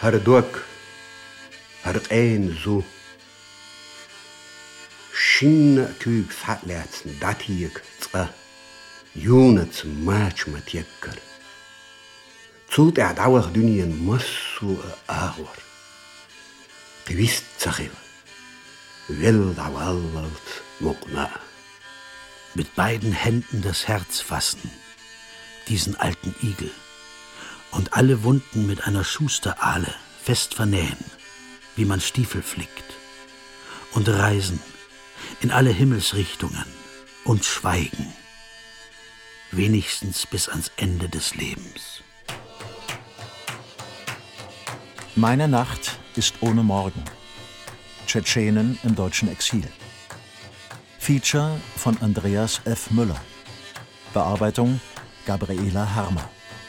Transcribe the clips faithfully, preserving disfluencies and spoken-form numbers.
Hardok, Hardein zu. Shin Küg Fatlerzen, Datjek, Zwa, Junets Matchmatjekker. Zult er dauer Dünien Massu Ahor. Gewist Zachiv, Will Dawallalt Mokna. Mit beiden Händen das Herz fassen, diesen alten Igel, und alle Wunden mit einer Schusterahle fest vernähen, wie man Stiefel flickt, und reisen in alle Himmelsrichtungen und schweigen, wenigstens bis ans Ende des Lebens. Meine Nacht ist ohne Morgen. Tschetschenen im deutschen Exil. Feature von Andreas F. Müller. Bearbeitung Gabriela Harmer.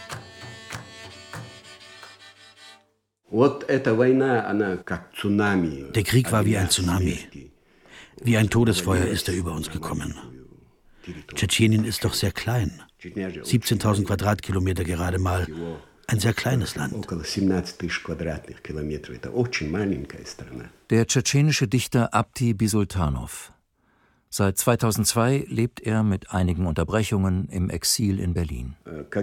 Der Krieg war wie ein Tsunami. Wie ein Todesfeuer ist er über uns gekommen. Tschetschenien ist doch sehr klein. siebzehntausend Quadratkilometer gerade mal. Ein sehr kleines Land. Der tschetschenische Dichter Abdi Bisultanov. Seit zweitausendzwei lebt er mit einigen Unterbrechungen im Exil in Berlin.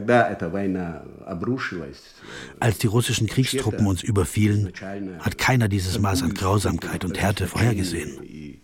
Als die russischen Kriegstruppen uns überfielen, hat keiner dieses Maß an Grausamkeit und Härte vorhergesehen.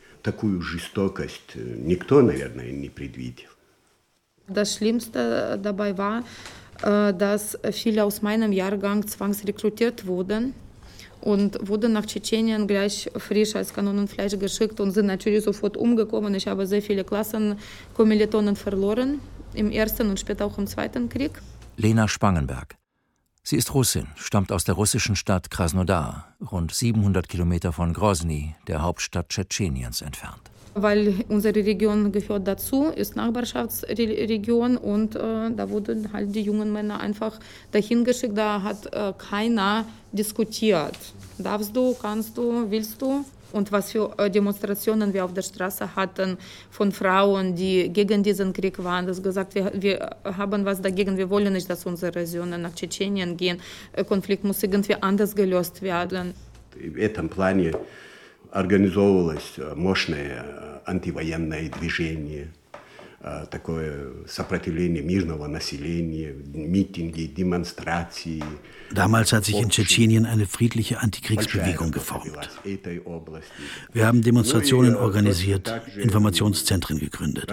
Das Schlimmste dabei war, dass viele aus meinem Jahrgang zwangsrekrutiert wurden und wurden nach Tschetschenien gleich frisch als Kanonenfleisch geschickt und sind natürlich sofort umgekommen. Ich habe sehr viele Klassenkommilitonen verloren, im ersten und später auch im zweiten Krieg. Lena Spangenberg. Sie ist Russin, stammt aus der russischen Stadt Krasnodar, rund siebenhundert Kilometer von Grosny, der Hauptstadt Tschetscheniens, entfernt. Weil unsere Region gehört dazu, ist Nachbarschaftsregion und äh, da wurden halt die jungen Männer einfach dahin geschickt. Da hat äh, keiner diskutiert. Darfst du, kannst du, willst du? Und was für äh, Demonstrationen wir auf der Straße hatten von Frauen, die gegen diesen Krieg waren. Das gesagt, wir, wir haben was dagegen, wir wollen nicht, dass unsere Söhne nach Tschetschenien gehen. Der Konflikt muss irgendwie anders gelöst werden. В этом плане организовывалось мощное антивоенное движение, такое сопротивление мирного населения, митинги, демонстрации. Damals hat sich in Tschetschenien eine friedliche Antikriegsbewegung geformt. Wir haben Demonstrationen organisiert, Informationszentren gegründet.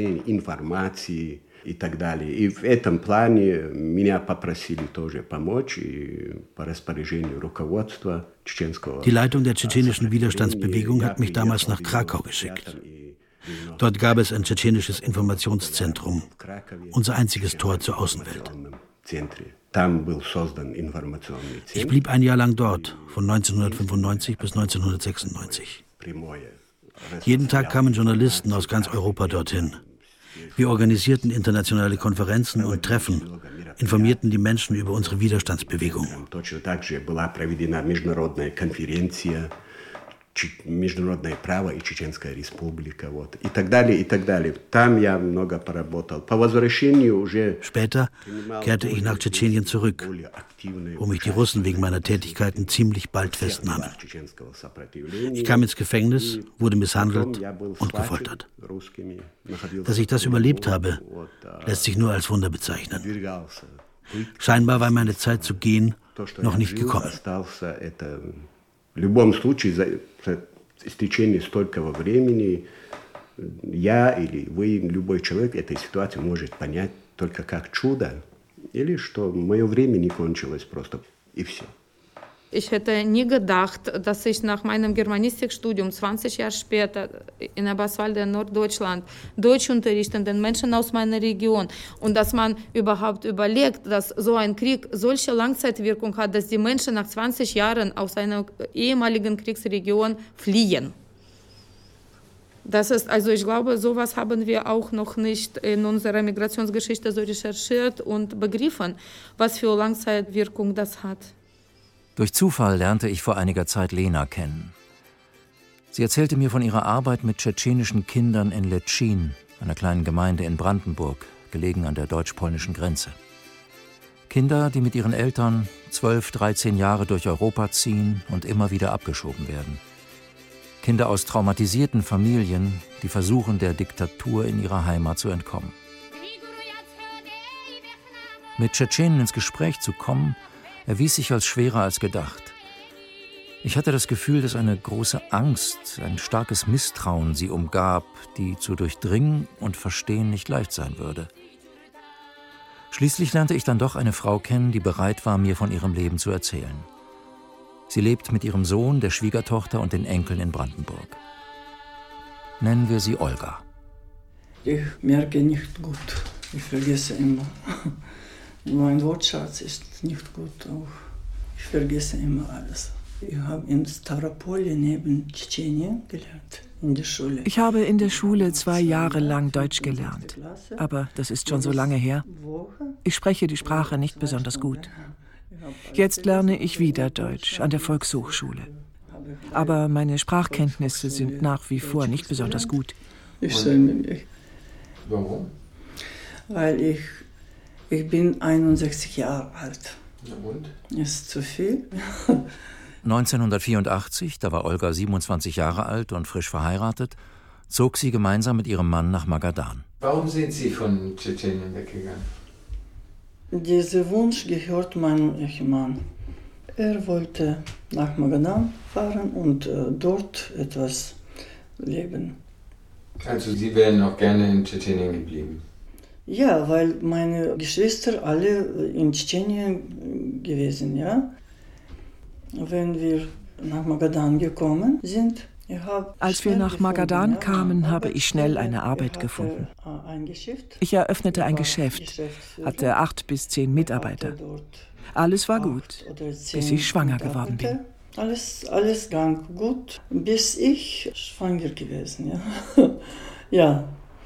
И так далее. И в этом плане меня попросили тоже помочь и по распоряжению руководства чеченского. Die Leitung der tschetschenischen Widerstandsbewegung hat mich damals nach Krakau geschickt. Dort gab es ein tschetschenisches Informationszentrum, unser einziges Tor zur Außenwelt. Ich blieb ein Jahr lang dort, von neunzehnhundertfünfundneunzig bis neunzehnhundertsechsundneunzig. Jeden Tag kamen Journalisten aus ganz Europa dorthin. Wir organisierten internationale Konferenzen und Treffen, informierten die Menschen über unsere Widerstandsbewegung. Международное право и Чеченская республика, вот, и так далее, и так далее. Там я много поработал. По возвращению уже... Später kehrte ich nach Tschetschenien zurück, wo mich die Russen wegen meiner Tätigkeiten ziemlich bald festnahmen. Ich kam ins Gefängnis, wurde misshandelt und gefoltert. Dass ich das überlebt habe, lässt sich nur als Wunder bezeichnen. Scheinbar war meine Zeit zu gehen noch nicht gekommen. В любом случае, за истечение столького времени я или вы, любой человек этой ситуации может понять только как чудо, или что мое время не кончилось просто, и все. Ich hätte nie gedacht, dass ich nach meinem Germanistikstudium zwanzig Jahre später in Eberswalde in Norddeutschland Deutsch unterrichten, den Menschen aus meiner Region. Und dass man überhaupt überlegt, dass so ein Krieg solche Langzeitwirkung hat, dass die Menschen nach zwanzig Jahren aus einer ehemaligen Kriegsregion fliehen. Das ist, also ich glaube, sowas haben wir auch noch nicht in unserer Migrationsgeschichte so recherchiert und begriffen, was für Langzeitwirkung das hat. Durch Zufall lernte ich vor einiger Zeit Lena kennen. Sie erzählte mir von ihrer Arbeit mit tschetschenischen Kindern in Letschin, einer kleinen Gemeinde in Brandenburg, gelegen an der deutsch-polnischen Grenze. Kinder, die mit ihren Eltern zwölf, dreizehn Jahre durch Europa ziehen und immer wieder abgeschoben werden. Kinder aus traumatisierten Familien, die versuchen, der Diktatur in ihrer Heimat zu entkommen. Mit Tschetschenen ins Gespräch zu kommen, erwies sich als schwerer als gedacht. Ich hatte das Gefühl, dass eine große Angst, ein starkes Misstrauen sie umgab, die zu durchdringen und verstehen nicht leicht sein würde. Schließlich lernte ich dann doch eine Frau kennen, die bereit war, mir von ihrem Leben zu erzählen. Sie lebt mit ihrem Sohn, der Schwiegertochter und den Enkeln in Brandenburg. Nennen wir sie Olga. Ich merke nicht gut. Ich vergesse immer. Mein Wortschatz ist nicht gut. Auch. Ich vergesse immer alles. Ich habe in Staropolje neben Tschetschenien gelernt, in der Schule. Ich habe in der Schule zwei Jahre lang Deutsch gelernt. Aber das ist schon so lange her. Ich spreche die Sprache nicht besonders gut. Jetzt lerne ich wieder Deutsch an der Volkshochschule. Aber meine Sprachkenntnisse sind nach wie vor nicht besonders gut. Ich schäme mich. Warum? Weil ich, ich bin einundsechzig Jahre alt. Na und? Ist zu viel. neunzehnhundertvierundachtzig, da war Olga siebenundzwanzig Jahre alt und frisch verheiratet, zog sie gemeinsam mit ihrem Mann nach Magadan. Warum sind Sie von Tschetschenien weggegangen? Dieser Wunsch gehört meinem Ehemann. Er wollte nach Magadan fahren und äh, dort etwas leben. Also Sie wären auch gerne in Tschetschenien geblieben? Ja, weil meine Geschwister alle in Tschetschenien gewesen, ja. Wenn wir nach Magadan gekommen sind, ich habe Als wir nach Magadan gefunden, kamen, ja, habe ich schnell eine Arbeit gefunden. Ich eröffnete ein Geschäft, hatte acht bis zehn Mitarbeiter. Alles war gut, bis ich schwanger geworden bin. Alles, alles ging gut, bis ich schwanger gewesen, ja. Ja.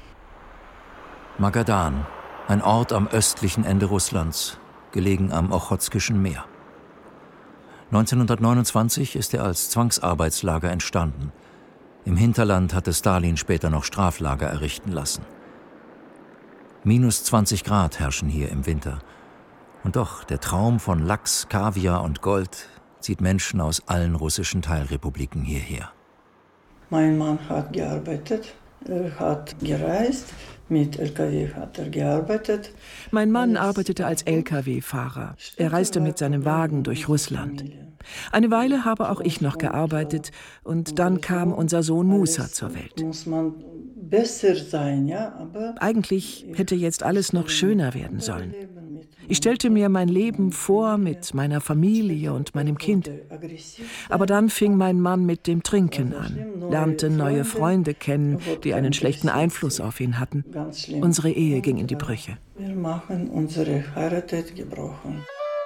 Magadan, ein Ort am östlichen Ende Russlands, gelegen am Ochotskischen Meer. neunzehnhundertneunundzwanzig ist er als Zwangsarbeitslager entstanden. Im Hinterland hatte Stalin später noch Straflager errichten lassen. Minus zwanzig Grad herrschen hier im Winter. Und doch, der Traum von Lachs, Kaviar und Gold zieht Menschen aus allen russischen Teilrepubliken hierher. Mein Mann hat gearbeitet, er hat gereist, mit L K W hat er gearbeitet. Mein Mann arbeitete als L K W-Fahrer. Er reiste mit seinem Wagen durch Russland. Eine Weile habe auch ich noch gearbeitet und dann kam unser Sohn Musa zur Welt. Muss man besser sein, ja, aber eigentlich hätte jetzt alles noch schöner werden sollen. Ich stellte mir mein Leben vor mit meiner Familie und meinem Kind. Aber dann fing mein Mann mit dem Trinken an, lernte neue Freunde kennen, die einen schlechten Einfluss auf ihn hatten. Unsere Ehe ging in die Brüche. Wir machen unsere Heirat gebrochen.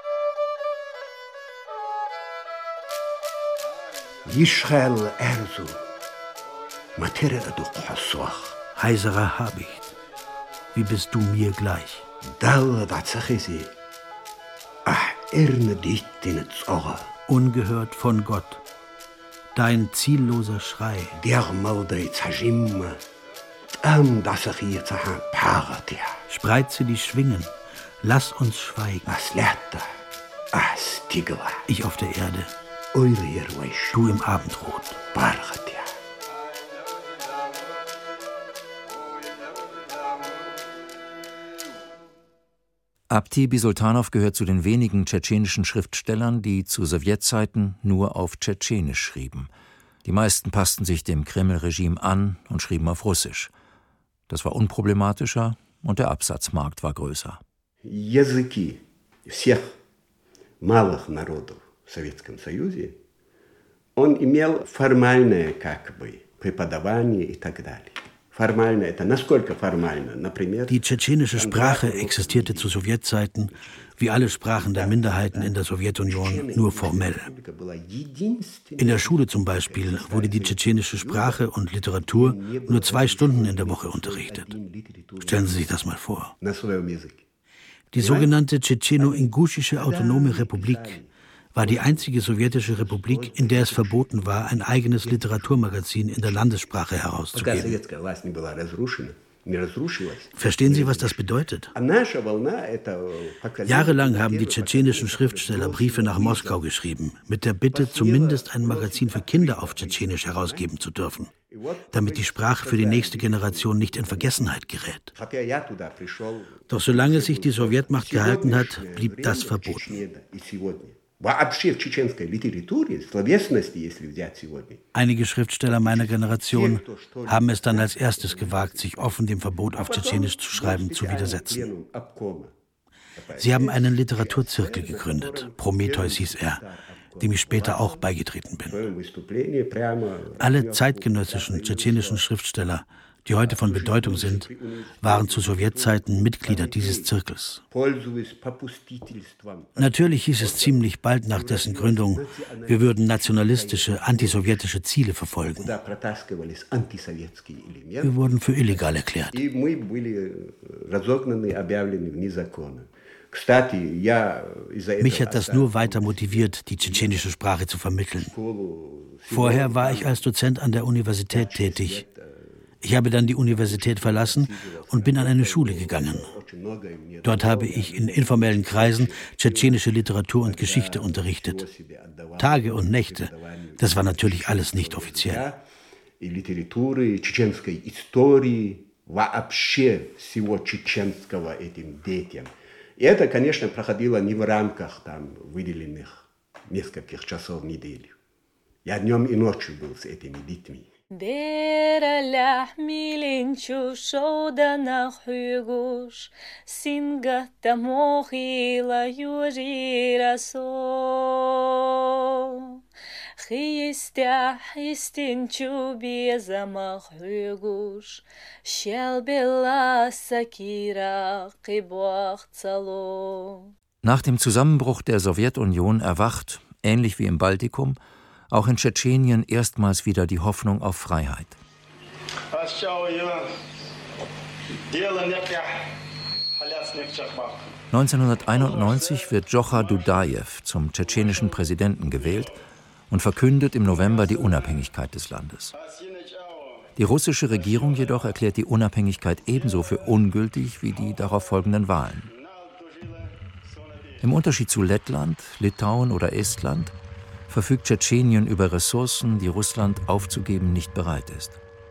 Yishrael Erzu, Materia du Qaswach. Heiserer Habicht, wie bist du mir gleich? Ungehört von Gott, dein zielloser Schrei. Spreize die Schwingen, lass uns schweigen. Ich auf der Erde, du im Abendrot. Abti Bisultanow gehört zu den wenigen tschetschenischen Schriftstellern, die zu Sowjetzeiten nur auf Tschetschenisch schrieben. Die meisten passten sich dem Kreml-Regime an und schrieben auf Russisch. Das war unproblematischer und der Absatzmarkt war größer. Языки всех малых народов в Советском Союзе он имел формальное как бы преподавание и так далее. Die tschetschenische Sprache existierte zu Sowjetzeiten, wie alle Sprachen der Minderheiten in der Sowjetunion, nur formell. In der Schule zum Beispiel wurde die tschetschenische Sprache und Literatur nur zwei Stunden in der Woche unterrichtet. Stellen Sie sich das mal vor. Die sogenannte Tschetscheno-Inguschische Autonome Republik war die einzige sowjetische Republik, in der es verboten war, ein eigenes Literaturmagazin in der Landessprache herauszugeben. Verstehen Sie, was das bedeutet? Jahrelang haben die tschetschenischen Schriftsteller Briefe nach Moskau geschrieben, mit der Bitte, zumindest ein Magazin für Kinder auf Tschetschenisch herausgeben zu dürfen, damit die Sprache für die nächste Generation nicht in Vergessenheit gerät. Doch solange sich die Sowjetmacht gehalten hat, blieb das verboten. Einige Schriftsteller meiner Generation haben es dann als erstes gewagt, sich offen dem Verbot auf Tschetschenisch zu schreiben zu widersetzen. Sie haben einen Literaturzirkel gegründet, Prometheus hieß er, dem ich später auch beigetreten bin. Alle zeitgenössischen tschetschenischen Schriftsteller, die heute von Bedeutung sind, waren zu Sowjetzeiten Mitglieder dieses Zirkels. Natürlich hieß es ziemlich bald nach dessen Gründung, wir würden nationalistische, antisowjetische Ziele verfolgen. Wir wurden für illegal erklärt. Mich hat das nur weiter motiviert, die tschetschenische Sprache zu vermitteln. Vorher war ich als Dozent an der Universität tätig. Ich habe dann die Universität verlassen und bin an eine Schule gegangen. Dort habe ich in informellen Kreisen tschetschenische Literatur und Geschichte unterrichtet. Tage und Nächte, das war natürlich alles nicht offiziell. Это, конечно, проходило не в рамках там выделенных нескольких часов в неделю. Я днем и ночью был с этими детьми. Dera milinchu shoda na hugush singata mohila yujira so Хистя хистинчу безама hugush shelbela sakira qibwach tsalo. Nach dem Zusammenbruch der Sowjetunion erwacht, ähnlich wie im Baltikum, auch in Tschetschenien erstmals wieder die Hoffnung auf Freiheit. neunzehnhunderteinundneunzig wird Djochar Dudajew zum tschetschenischen Präsidenten gewählt und verkündet im November die Unabhängigkeit des Landes. Die russische Regierung jedoch erklärt die Unabhängigkeit ebenso für ungültig wie die darauf folgenden Wahlen. Im Unterschied zu Lettland, Litauen oder Estland verfügt Tschetschenien über Ressourcen, die Russland aufzugeben nicht bereit ist.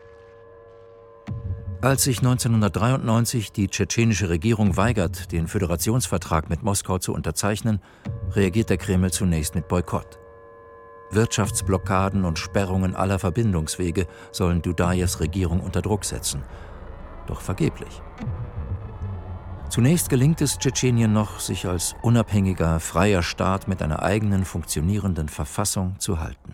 Als sich neunzehnhundertdreiundneunzig die tschetschenische Regierung weigert, den Föderationsvertrag mit Moskau zu unterzeichnen, reagiert der Kreml zunächst mit Boykott. Wirtschaftsblockaden und Sperrungen aller Verbindungswege sollen Dudajews Regierung unter Druck setzen. Doch vergeblich. Zunächst gelingt es Tschetschenien noch, sich als unabhängiger, freier Staat mit einer eigenen, funktionierenden Verfassung zu halten.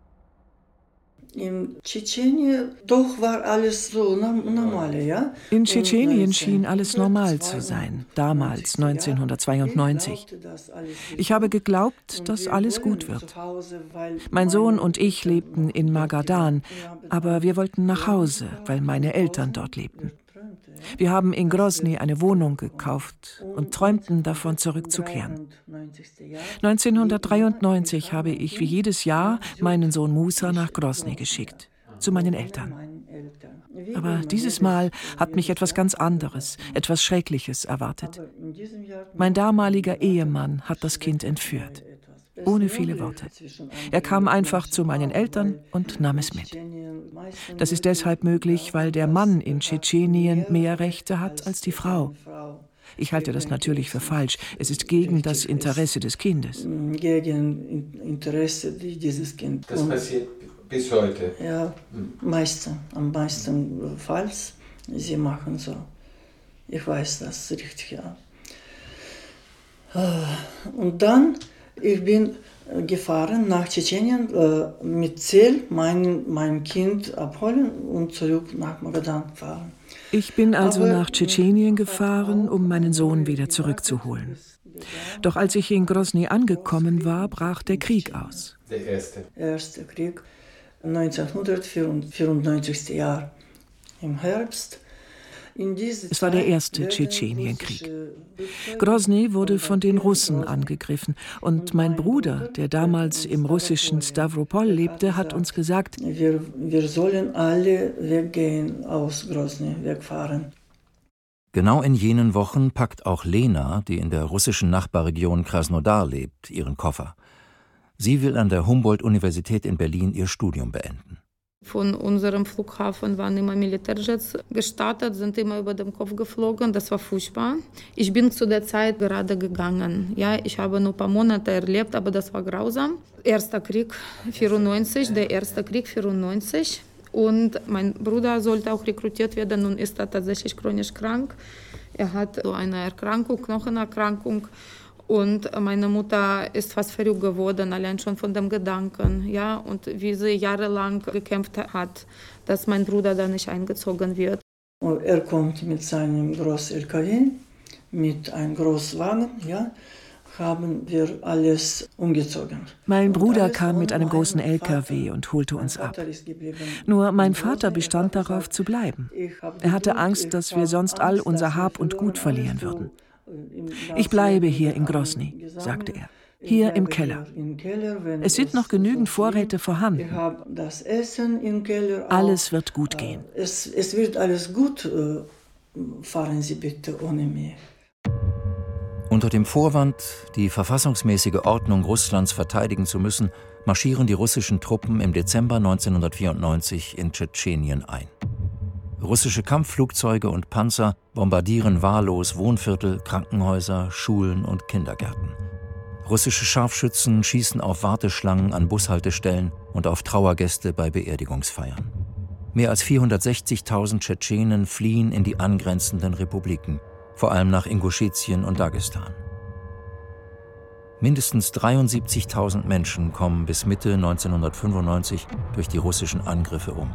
In Tschetschenien doch war alles so normal, ja? In Tschetschenien schien alles normal zu sein, damals neunzehnhundertzweiundneunzig. Ich habe geglaubt, dass alles gut wird. Mein Sohn und ich lebten in Magadan, aber wir wollten nach Hause, weil meine Eltern dort lebten. Wir haben in Grosny eine Wohnung gekauft und träumten davon, zurückzukehren. neunzehnhundertdreiundneunzig habe ich wie jedes Jahr meinen Sohn Musa nach Grosny geschickt, zu meinen Eltern. Aber dieses Mal hat mich etwas ganz anderes, etwas Schreckliches erwartet. Mein damaliger Ehemann hat das Kind entführt. Ohne viele Worte. Er kam einfach zu meinen Eltern und nahm es mit. Das ist deshalb möglich, weil der Mann in Tschetschenien mehr Rechte hat als die Frau. Ich halte das natürlich für falsch. Es ist gegen das Interesse des Kindes. Gegen Interesse dieses Kindes. Das passiert bis heute? Ja, meisten, am meisten Falls. Sie machen so. Ich weiß das richtig, ja. Und dann ich bin gefahren nach Tschetschenien äh, mit Ziel, mein, mein Kind abholen und zurück nach Magadan fahren. Ich bin also Aber, nach Tschetschenien gefahren, um meinen Sohn wieder zurückzuholen. Doch als ich in Grosny angekommen war, brach der Krieg aus. Der erste. Erste Krieg, neunzehnhundertvierundneunzig Jahr im Herbst. Es war der erste Tschetschenienkrieg. Grosny wurde von den Russen angegriffen. Und mein Bruder, der damals im russischen Stavropol lebte, hat uns gesagt, wir, wir sollen alle weggehen aus Grosny, wegfahren. Genau in jenen Wochen packt auch Lena, die in der russischen Nachbarregion Krasnodar lebt, ihren Koffer. Sie will an der Humboldt-Universität in Berlin ihr Studium beenden. Von unserem Flughafen waren immer Militärjets gestartet, sind immer über den Kopf geflogen. Das war furchtbar. Ich bin zu der Zeit gerade gegangen. Ja, ich habe nur ein paar Monate erlebt, aber das war grausam. Erster Krieg vierundneunzig, der erste Krieg vierundneunzig. Und mein Bruder sollte auch rekrutiert werden und ist da tatsächlich chronisch krank. Er hat so eine Erkrankung, Knochenerkrankung. Und meine Mutter ist fast verrückt geworden, allein schon von dem Gedanken. Ja? Und wie sie jahrelang gekämpft hat, dass mein Bruder da nicht eingezogen wird. Und er kommt mit seinem großen L K W, mit einem Großwagen, ja, haben wir alles umgezogen. Mein Bruder kam mit einem großen L K W und holte uns ab. Nur mein Vater bestand darauf zu bleiben. Er hatte Angst, dass wir sonst all unser Hab und Gut verlieren würden. Ich bleibe hier in Grosny, sagte er, hier im Keller. Es sind noch genügend Vorräte vorhanden. Alles wird gut gehen. Es, es wird alles gut. Fahren Sie bitte ohne mich. Unter dem Vorwand, die verfassungsmäßige Ordnung Russlands verteidigen zu müssen, marschieren die russischen Truppen im Dezember neunzehnhundertvierundneunzig in Tschetschenien ein. Russische Kampfflugzeuge und Panzer bombardieren wahllos Wohnviertel, Krankenhäuser, Schulen und Kindergärten. Russische Scharfschützen schießen auf Warteschlangen an Bushaltestellen und auf Trauergäste bei Beerdigungsfeiern. Mehr als vierhundertsechzigtausend Tschetschenen fliehen in die angrenzenden Republiken, vor allem nach Inguschetien und Dagestan. Mindestens dreiundsiebzigtausend Menschen kommen bis Mitte neunzehnhundertfünfundneunzig durch die russischen Angriffe um.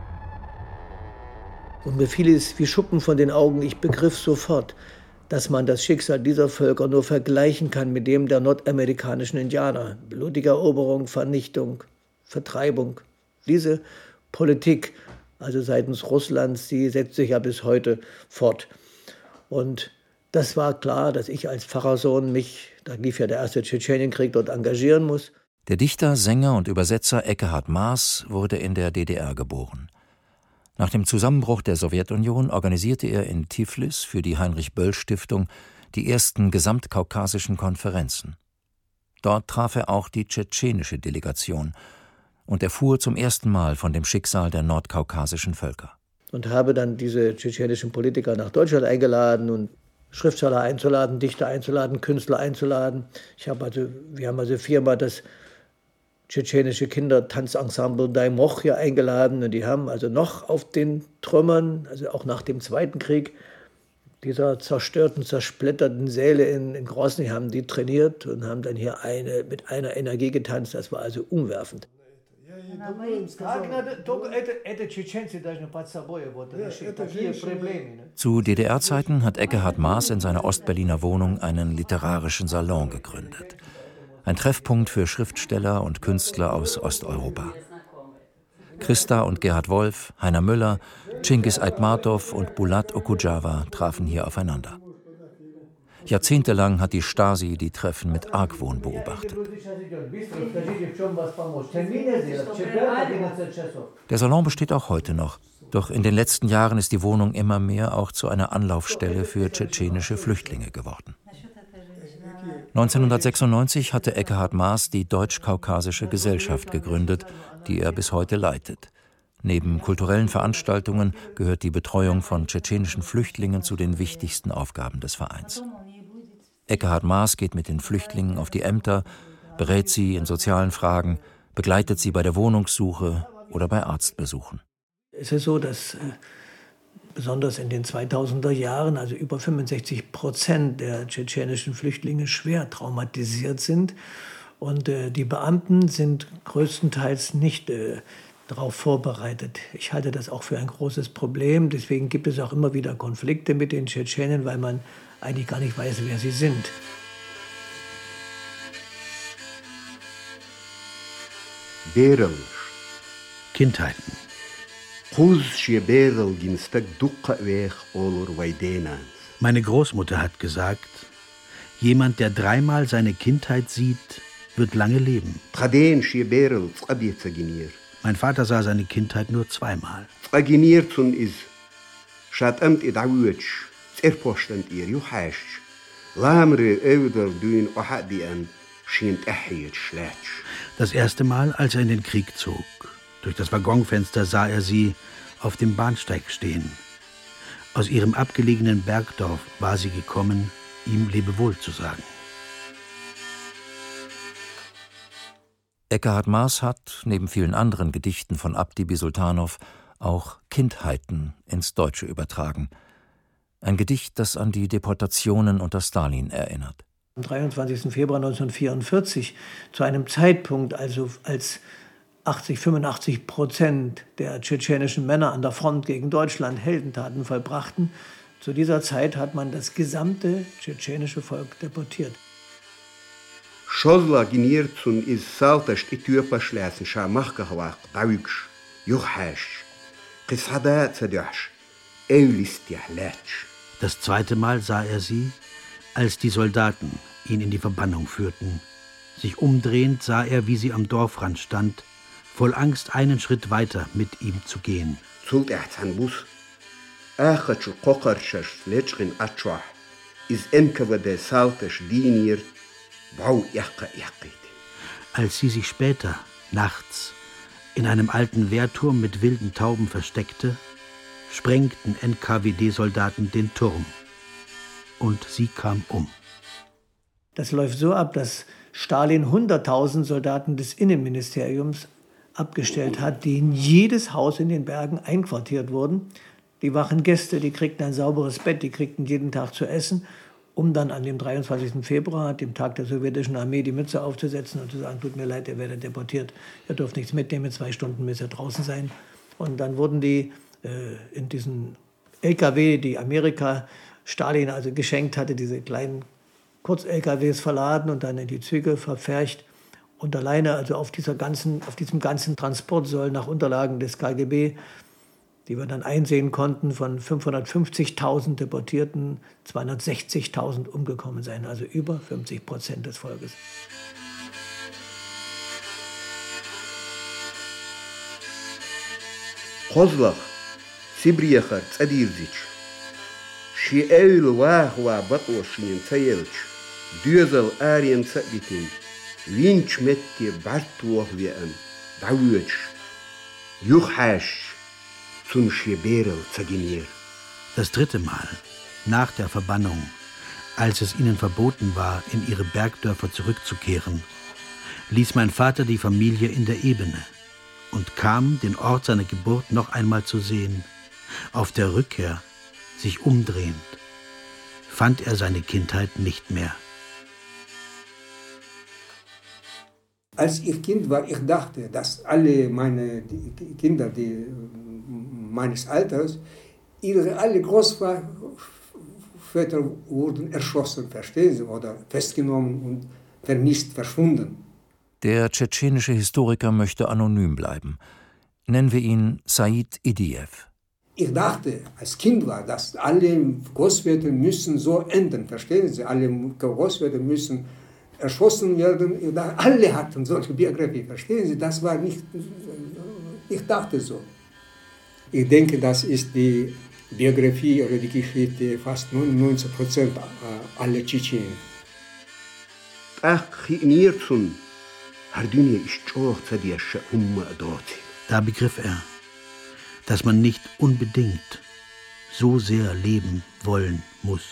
Und mir fiel es wie Schuppen von den Augen. Ich begriff sofort, dass man das Schicksal dieser Völker nur vergleichen kann mit dem der nordamerikanischen Indianer. Blutige Eroberung, Vernichtung, Vertreibung. Diese Politik, also seitens Russlands, die setzt sich ja bis heute fort. Und das war klar, dass ich als Pfarrersohn mich, da lief ja der erste Tschetschenienkrieg, dort engagieren muss. Der Dichter, Sänger und Übersetzer Ekkehard Maas wurde in der D D R geboren. Nach dem Zusammenbruch der Sowjetunion organisierte er in Tiflis für die Heinrich-Böll-Stiftung die ersten gesamtkaukasischen Konferenzen. Dort traf er auch die tschetschenische Delegation und erfuhr zum ersten Mal von dem Schicksal der nordkaukasischen Völker. Und habe dann diese tschetschenischen Politiker nach Deutschland eingeladen und Schriftsteller einzuladen, Dichter einzuladen, Künstler einzuladen. Ich habe also, wir haben also viermal das tschetschenische Kindertanzensemble Dai Moch hier eingeladen und die haben also noch auf den Trümmern, also auch nach dem Zweiten Krieg, dieser zerstörten, zersplitterten Säle in, in Grosny haben die trainiert und haben dann hier eine, mit einer Energie getanzt. Das war also umwerfend. Zu D D R-Zeiten hat Ekkehard Maas in seiner Ostberliner Wohnung einen literarischen Salon gegründet. Ein Treffpunkt für Schriftsteller und Künstler aus Osteuropa. Christa und Gerhard Wolf, Heiner Müller, Cengiz Aitmatov und Bulat Okudjava trafen hier aufeinander. Jahrzehntelang hat die Stasi die Treffen mit Argwohn beobachtet. Der Salon besteht auch heute noch, doch in den letzten Jahren ist die Wohnung immer mehr auch zu einer Anlaufstelle für tschetschenische Flüchtlinge geworden. neunzehnhundertsechsundneunzig hatte Ekkehard Maas die Deutsch-Kaukasische Gesellschaft gegründet, die er bis heute leitet. Neben kulturellen Veranstaltungen gehört die Betreuung von tschetschenischen Flüchtlingen zu den wichtigsten Aufgaben des Vereins. Ekkehard Maas geht mit den Flüchtlingen auf die Ämter, berät sie in sozialen Fragen, begleitet sie bei der Wohnungssuche oder bei Arztbesuchen. Es ist so, dass äh, besonders in den zweitausender Jahren, also über fünfundsechzig Prozent der tschetschenischen Flüchtlinge schwer traumatisiert sind. Und äh, die Beamten sind größtenteils nicht äh, darauf vorbereitet. Ich halte das auch für ein großes Problem. Deswegen gibt es auch immer wieder Konflikte mit den Tschetschenen, weil man eigentlich gar nicht weiß, wer sie sind. Kindheiten. Meine Großmutter hat gesagt, jemand, der dreimal seine Kindheit sieht, wird lange leben. Mein Vater sah seine Kindheit nur zweimal. Das erste Mal, als er in den Krieg zog. Durch das Waggonfenster sah er sie auf dem Bahnsteig stehen. Aus ihrem abgelegenen Bergdorf war sie gekommen, ihm Lebewohl zu sagen. Ekkehard Maas hat, neben vielen anderen Gedichten von Abdi Bisultanow, auch Kindheiten ins Deutsche übertragen. Ein Gedicht, das an die Deportationen unter Stalin erinnert. Am dreiundzwanzigsten Februar neunzehnhundertvierundvierzig, zu einem Zeitpunkt, also als achtzig, fünfundachtzig Prozent der tschetschenischen Männer an der Front gegen Deutschland Heldentaten vollbrachten, zu dieser Zeit hat man das gesamte tschetschenische Volk deportiert. Шозла генерцун из салташ Äthiopia schläßen Schamachgahwach Dawisch Juchhasch Qisada Zadjasch Eulistjahlatsch. Das zweite Mal sah er sie, als die Soldaten ihn in die Verbannung führten. Sich umdrehend sah er, wie sie am Dorfrand stand, voll Angst einen Schritt weiter mit ihm zu gehen. Zult Bus Achatsch Qokarchasch Letschrin Atschwach is N K W D Saltasch Dinir. Als sie sich später, nachts, in einem alten Wehrturm mit wilden Tauben versteckte, sprengten N K W D-Soldaten den Turm. Und sie kam um. Das läuft so ab, dass Stalin hunderttausend Soldaten des Innenministeriums abgestellt hat, die in jedes Haus in den Bergen einquartiert wurden. Die wachen Gäste, die kriegten ein sauberes Bett, die kriegten jeden Tag zu essen, um dann an dem dreiundzwanzigsten Februar, dem Tag der sowjetischen Armee, die Mütze aufzusetzen und zu sagen, tut mir leid, ihr werdet deportiert, ihr dürft nichts mitnehmen, zwei Stunden müsst ihr draußen sein. Und dann wurden die äh, in diesen L K W, die Amerika Stalin also geschenkt hatte, diese kleinen Kurz-L K Ws verladen und dann in die Züge verpfercht. Und alleine also auf, dieser ganzen, auf diesem ganzen Transport sollen nach Unterlagen des K G B, die wir dann einsehen konnten, von fünfhundertfünfzigtausend Deportierten zweihundertsechzigtausend umgekommen sein, also über fünfzig Prozent des Volkes. Kozlach, Sibriacher, Zadirzic, Schiel Wahwa Batwashin Zayelch, Düsel Arien Zabitin, Winch Metti Bartwochwien, Dawitsch, Juchhasch. Das dritte Mal, nach der Verbannung, als es ihnen verboten war, in ihre Bergdörfer zurückzukehren, ließ mein Vater die Familie in der Ebene und kam, den Ort seiner Geburt noch einmal zu sehen. Auf der Rückkehr, sich umdrehend, fand er seine Kindheit nicht mehr. Als ich Kind war, ich dachte, dass alle meine die Kinder, die meines Alters, ihre alle Großväter wurden erschossen, verstehen Sie, oder festgenommen und vermisst, verschwunden. Der tschetschenische Historiker möchte anonym bleiben. Nennen wir ihn Said Idiev. Ich dachte, als Kind war, dass alle Großväter müssen so enden, verstehen Sie, alle Großväter müssen erschossen werden. Alle hatten solche Biografie, verstehen Sie, das war nicht, ich dachte so. Ich denke, das ist die Biografie oder die Geschichte fast neunundneunzig Prozent aller Tschetschenen. Da begriff er, dass man nicht unbedingt so sehr leben wollen muss.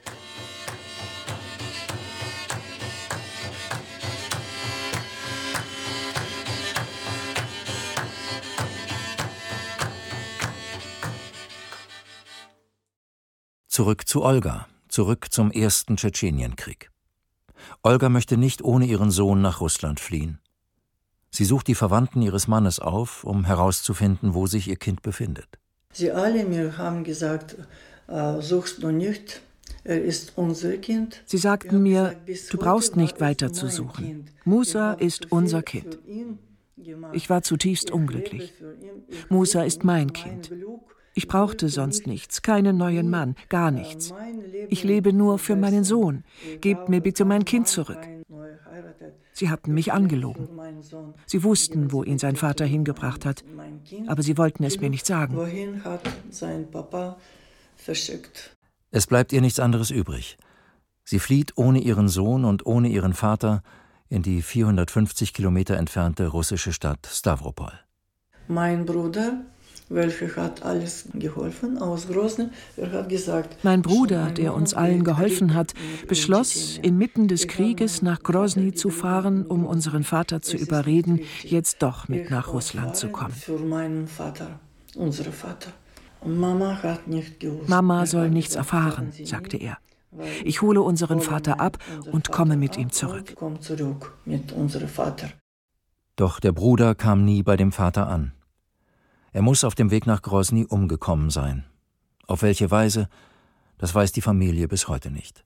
Zurück zu Olga, zurück zum ersten Tschetschenienkrieg. Olga möchte nicht ohne ihren Sohn nach Russland fliehen. Sie sucht die Verwandten ihres Mannes auf, um herauszufinden, wo sich ihr Kind befindet. Sie alle mir haben gesagt, äh, suchst du nicht, er ist unser Kind. Sie sagten mir, du brauchst nicht weiter zu suchen. Musa ist unser Kind. Ich war zutiefst unglücklich. Musa ist mein Kind. Ich brauchte sonst nichts, keinen neuen Mann, gar nichts. Ich lebe nur für meinen Sohn. Gebt mir bitte mein Kind zurück. Sie hatten mich angelogen. Sie wussten, wo ihn sein Vater hingebracht hat, aber sie wollten es mir nicht sagen. Wohin hat sein Papa verschickt? Es bleibt ihr nichts anderes übrig. Sie flieht ohne ihren Sohn und ohne ihren Vater in die vierhundertfünfzig Kilometer entfernte russische Stadt Stavropol. Mein Bruder, welcher hat alles geholfen aus Grosny, er hat gesagt... Mein Bruder, der uns allen geholfen hat, beschloss, inmitten des Krieges nach Grosny zu fahren, um unseren Vater zu überreden, jetzt doch mit nach Russland zu kommen. Für meinen Vater, unseren Vater. Mama hat nicht gewusst. Mama soll nichts erfahren, sagte er. Ich hole unseren Vater ab und komme mit ihm zurück. Komm zurück mit unserem Vater. Doch der Bruder kam nie bei dem Vater an. Er muss auf dem Weg nach Grosny umgekommen sein. Auf welche Weise, das weiß die Familie bis heute nicht.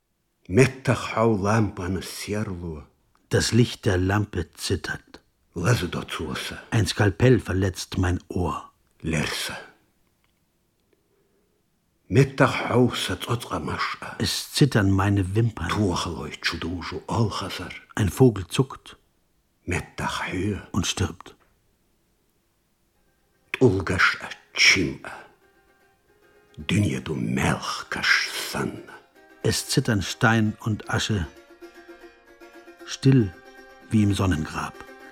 Das Licht der Lampe zittert. Ein Skalpell verletzt mein Ohr. Es zittern meine Wimpern. Ein Vogel zuckt und stirbt. Es zittern Stein und Asche, still wie im Sonnengrab.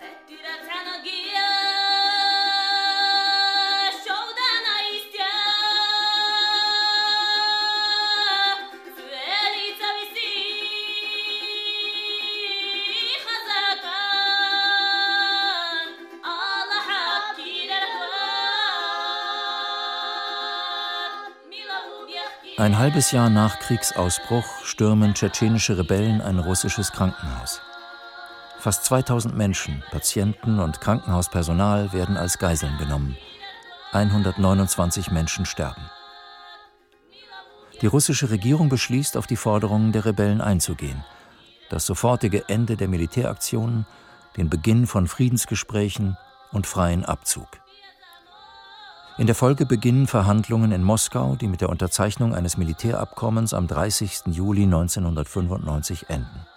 Ein halbes Jahr nach Kriegsausbruch stürmen tschetschenische Rebellen ein russisches Krankenhaus. Fast zweitausend Menschen, Patienten und Krankenhauspersonal werden als Geiseln genommen. hundertneunundzwanzig Menschen sterben. Die russische Regierung beschließt, auf die Forderungen der Rebellen einzugehen. Das sofortige Ende der Militäraktionen, den Beginn von Friedensgesprächen und freien Abzug. In der Folge beginnen Verhandlungen in Moskau, die mit der Unterzeichnung eines Militärabkommens am dreißigsten Juli neunzehnhundertfünfundneunzig enden.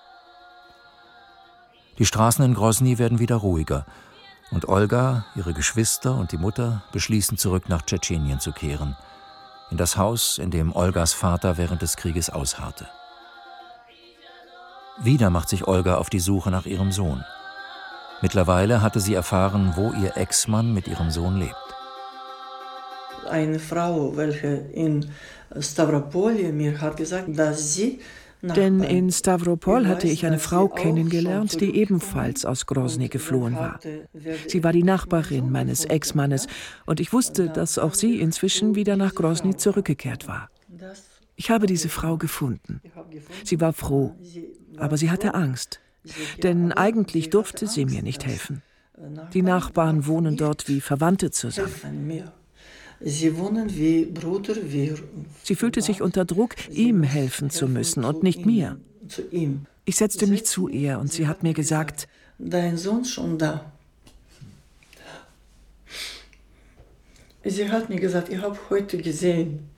Die Straßen in Grosny werden wieder ruhiger und Olga, ihre Geschwister und die Mutter beschließen, zurück nach Tschetschenien zu kehren, in das Haus, in dem Olgas Vater während des Krieges ausharrte. Wieder macht sich Olga auf die Suche nach ihrem Sohn. Mittlerweile hatte sie erfahren, wo ihr Ex-Mann mit ihrem Sohn lebt. Eine Frau, welche in Stavropol mir hat gesagt, dass sie... Denn in Stavropol hatte ich eine Frau kennengelernt, die ebenfalls aus Grosny geflohen war. Sie war die Nachbarin meines Ex-Mannes und ich wusste, dass auch sie inzwischen wieder nach Grosny zurückgekehrt war. Ich habe diese Frau gefunden. Sie war froh, aber sie hatte Angst, denn eigentlich durfte sie mir nicht helfen. Die Nachbarn wohnen dort wie Verwandte zusammen. Sie wohnen wie Bruder, wie... Sie fühlte sich unter Druck, ihm helfen zu müssen und nicht mir. Ich setzte mich zu ihr und sie hat mir gesagt, dein Sohn ist schon da. Sie hat mir gesagt, ich habe heute gesehen.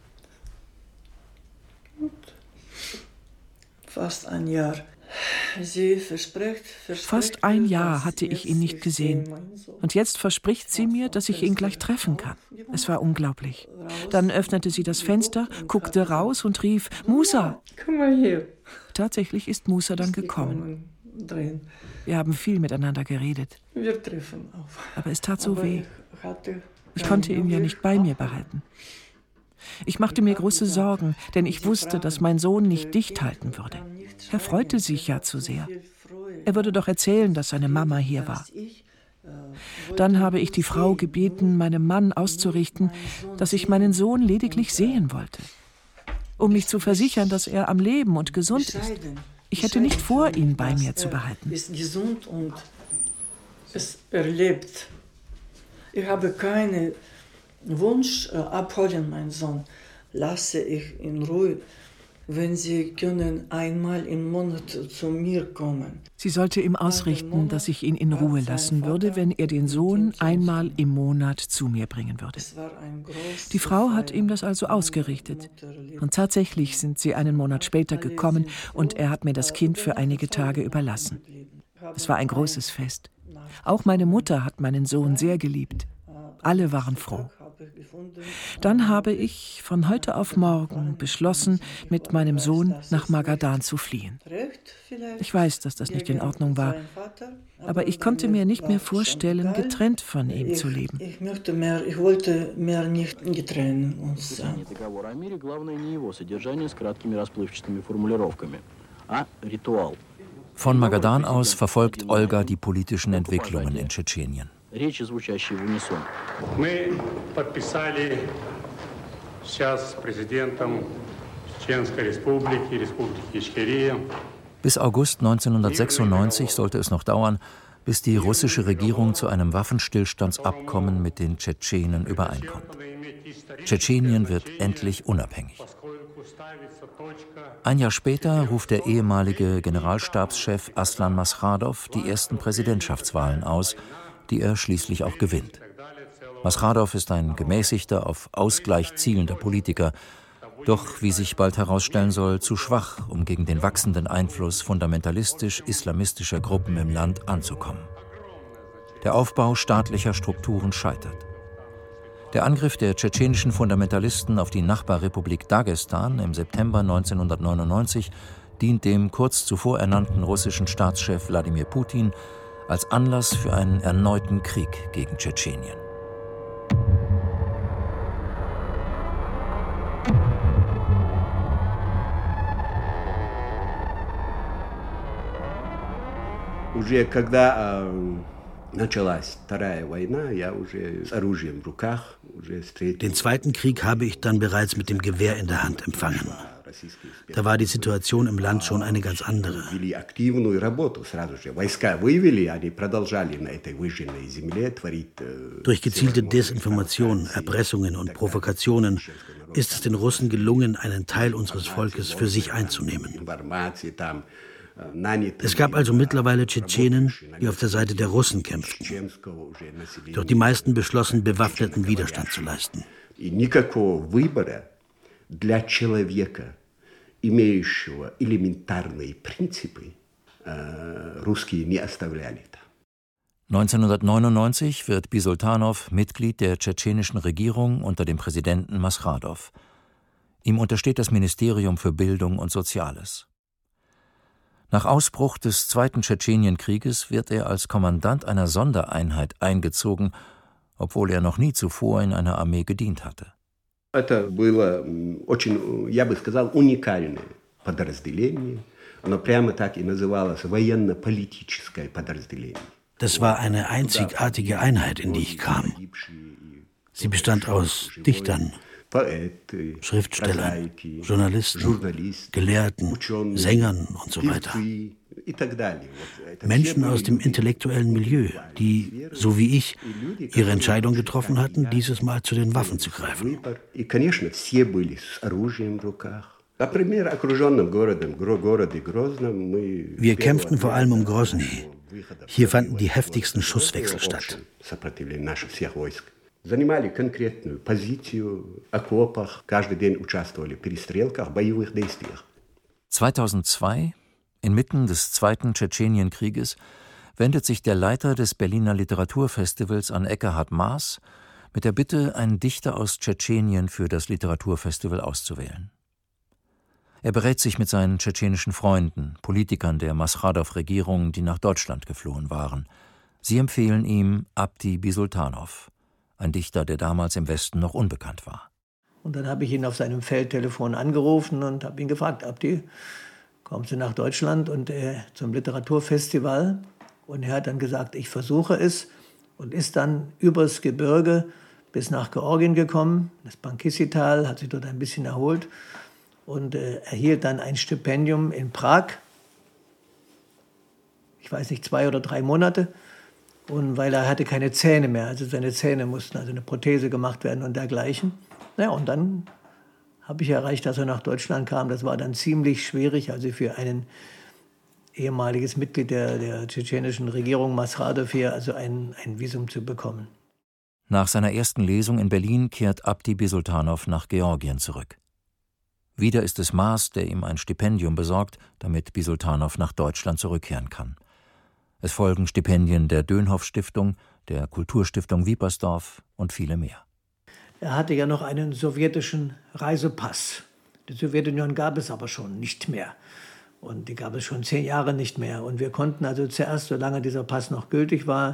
Fast ein Jahr. Sie verspricht, verspricht, Fast ein Jahr hatte ich ihn nicht gesehen. Und jetzt verspricht sie mir, dass ich ihn gleich treffen kann. Es war unglaublich. Dann öffnete sie das Fenster, guckte raus und rief, Musa! Komm mal hier. Tatsächlich ist Musa dann gekommen. Wir haben viel miteinander geredet. Wir treffen auf. Aber es tat so weh. Ich konnte ihn ja nicht bei mir behalten. Ich machte mir große Sorgen, denn ich wusste, dass mein Sohn nicht dicht halten würde. Er freute sich ja zu sehr. Er würde doch erzählen, dass seine Mama hier war. Dann habe ich die Frau gebeten, meinem Mann auszurichten, dass ich meinen Sohn lediglich sehen wollte, um mich zu versichern, dass er am Leben und gesund ist. Ich hätte nicht vor, ihn bei mir zu behalten. Er ist gesund und er lebt. Ich habe keinen Wunsch, abholen meinen Sohn. Lasse ich in Ruhe. Wenn Sie können einmal im Monat zu mir kommen. Sie sollte ihm ausrichten, dass ich ihn in Ruhe lassen würde, wenn er den Sohn einmal im Monat zu mir bringen würde. Die Frau hat ihm das also ausgerichtet. Und tatsächlich sind sie einen Monat später gekommen und er hat mir das Kind für einige Tage überlassen. Es war ein großes Fest. Auch meine Mutter hat meinen Sohn sehr geliebt. Alle waren froh. Dann habe ich von heute auf morgen beschlossen, mit meinem Sohn nach Magadan zu fliehen. Ich weiß, dass das nicht in Ordnung war, aber ich konnte mir nicht mehr vorstellen, getrennt von ihm zu leben. Ich möchte mehr, ich wollte mehr nicht getrennt uns sein. Von Magadan aus verfolgt Olga die politischen Entwicklungen in Tschetschenien. Речи, звучащие в унисон. Мы подписали сейчас с президентом Чеченской Республики, Республики Ичкерия. Bis August neunzehnhundertsechsundneunzig sollte es noch dauern, bis die russische Regierung zu einem Waffenstillstandsabkommen mit den Tschetschenen übereinkommt. Tschetschenien wird endlich unabhängig. Ein Jahr später ruft der ehemalige Generalstabschef Aslan Maskhadov die ersten Präsidentschaftswahlen aus, die er schließlich auch gewinnt. Maskhadov ist ein gemäßigter, auf Ausgleich zielender Politiker, doch, wie sich bald herausstellen soll, zu schwach, um gegen den wachsenden Einfluss fundamentalistisch-islamistischer Gruppen im Land anzukommen. Der Aufbau staatlicher Strukturen scheitert. Der Angriff der tschetschenischen Fundamentalisten auf die Nachbarrepublik Dagestan im September neunzehnhundertneunundneunzig dient dem kurz zuvor ernannten russischen Staatschef Wladimir Putin als Anlass für einen erneuten Krieg gegen Tschetschenien. Уже когда началась Вторая война, я уже с оружием в руках уже встретил. Den Zweiten Krieg habe ich dann bereits mit dem Gewehr in der Hand empfangen. Da war die Situation im Land schon eine ganz andere. Durch gezielte Desinformation, Erpressungen und Provokationen ist es den Russen gelungen, einen Teil unseres Volkes für sich einzunehmen. Es gab also mittlerweile Tschetschenen, die auf der Seite der Russen kämpften. Doch die meisten beschlossen, bewaffneten Widerstand zu leisten. Имеющего элементарные принципы, русские не оставляли. neunzehnhundertneunundneunzig wird Bisultanow Mitglied der tschetschenischen Regierung unter dem Präsidenten Maskhadov. Ihm untersteht das Ministerium für Bildung und Soziales. Nach Ausbruch des Zweiten Tschetschenienkrieges wird er als Kommandant einer Sondereinheit eingezogen, obwohl er noch nie zuvor in einer Armee gedient hatte. Это было очень, я бы сказал, уникальное подразделение. Оно прямо так и называлось военно-политическое подразделение. Das war eine einzigartige Einheit, in die ich kam. Sie bestand aus Dichtern, Schriftstellern, Journalisten, Gelehrten, Sängern und so weiter. Menschen aus dem intellektuellen Milieu, die, so wie ich, ihre Entscheidung getroffen hatten, dieses Mal zu den Waffen zu greifen. Wir kämpften vor allem um Grozny. Hier fanden die heftigsten Schusswechsel statt. Занимали конкретную позицию в окопах, каждый день участвовали в перестрелках, боевых действиях. zweitausendzwei, inmitten des Zweiten Tschetschenienkrieges, wendet sich der Leiter des Berliner Literaturfestivals an Ekkehard Maaß mit der Bitte, einen Dichter aus Tschetschenien für das Literaturfestival auszuwählen. Er berät sich mit seinen tschetschenischen Freunden, Politikern der Maskhadov-Regierung, die nach Deutschland geflohen waren. Sie empfehlen ihm Abdi Bisultanow, ein Dichter, der damals im Westen noch unbekannt war. Und dann habe ich ihn auf seinem Feldtelefon angerufen und habe ihn gefragt, Abdi, kommst du nach Deutschland und äh, zum Literaturfestival? Und er hat dann gesagt, ich versuche es, und ist dann übers Gebirge bis nach Georgien gekommen, das Bankissi-Tal, hat sich dort ein bisschen erholt und äh, erhielt dann ein Stipendium in Prag, ich weiß nicht, zwei oder drei Monate. Und weil er hatte keine Zähne mehr, also seine Zähne mussten, also eine Prothese gemacht werden und dergleichen. Ja, und dann habe ich erreicht, dass er nach Deutschland kam. Das war dann ziemlich schwierig, also für ein ehemaliges Mitglied der, der tschetschenischen Regierung, Masradov, also ein, ein Visum zu bekommen. Nach seiner ersten Lesung in Berlin kehrt Abdi Bisultanow nach Georgien zurück. Wieder ist es Maas, der ihm ein Stipendium besorgt, damit Bisultanow nach Deutschland zurückkehren kann. Es folgen Stipendien der Dönhoff-Stiftung, der Kulturstiftung Wiepersdorf und viele mehr. Er hatte ja noch einen sowjetischen Reisepass. Die Sowjetunion gab es aber schon nicht mehr. Und die gab es schon zehn Jahre nicht mehr. Und wir konnten also zuerst, solange dieser Pass noch gültig war,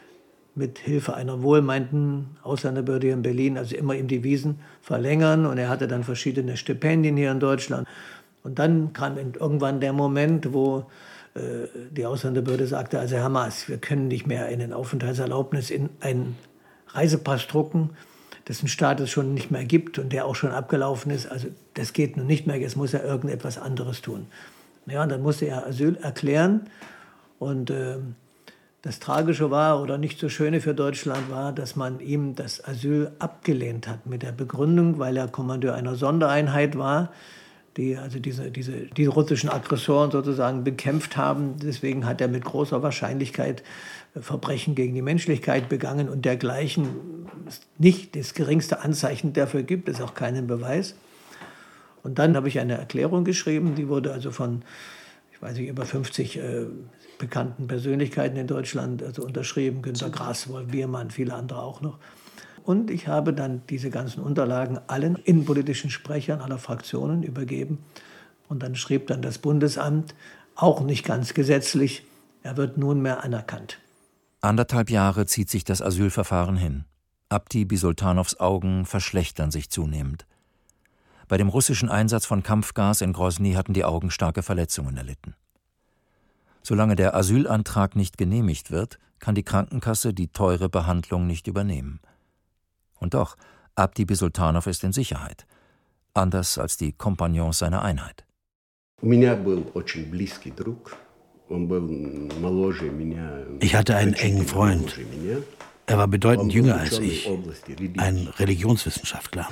mit Hilfe einer wohlmeinten Ausländerbehörde in Berlin, also immer ihm die Visen verlängern. Und er hatte dann verschiedene Stipendien hier in Deutschland. Und dann kam irgendwann der Moment, wo äh, die Ausländerbehörde sagte, also Herr Maas, wir können nicht mehr eine Aufenthaltserlaubnis in einen Reisepass drucken, dessen Status schon nicht mehr gibt und der auch schon abgelaufen ist. Also das geht nun nicht mehr, jetzt muss er irgendetwas anderes tun. Ja, und dann musste er Asyl erklären. Und äh, das Tragische war, oder nicht so Schöne für Deutschland war, dass man ihm das Asyl abgelehnt hat mit der Begründung, weil er Kommandeur einer Sondereinheit war, die also diese, diese, die russischen Aggressoren sozusagen bekämpft haben. Deswegen hat er mit großer Wahrscheinlichkeit Verbrechen gegen die Menschlichkeit begangen und dergleichen. Nicht das geringste Anzeichen dafür gibt es, auch keinen Beweis. Und dann habe ich eine Erklärung geschrieben, die wurde also von, ich weiß nicht, über fünfzig äh, bekannten Persönlichkeiten in Deutschland also unterschrieben, Günter Grass, Wolf Biermann, viele andere auch noch. Und ich habe dann diese ganzen Unterlagen allen innenpolitischen Sprechern aller Fraktionen übergeben. Und dann schrieb dann das Bundesamt, auch nicht ganz gesetzlich, er wird nunmehr anerkannt. Anderthalb Jahre zieht sich das Asylverfahren hin. Abdi Bisultanows Augen verschlechtern sich zunehmend. Bei dem russischen Einsatz von Kampfgas in Grosny hatten die Augen starke Verletzungen erlitten. Solange der Asylantrag nicht genehmigt wird, kann die Krankenkasse die teure Behandlung nicht übernehmen. Und doch, Abdi Bisultanow ist in Sicherheit, anders als die Kompagnons seiner Einheit. Ich hatte einen engen Freund. Er war bedeutend jünger als ich, ein Religionswissenschaftler.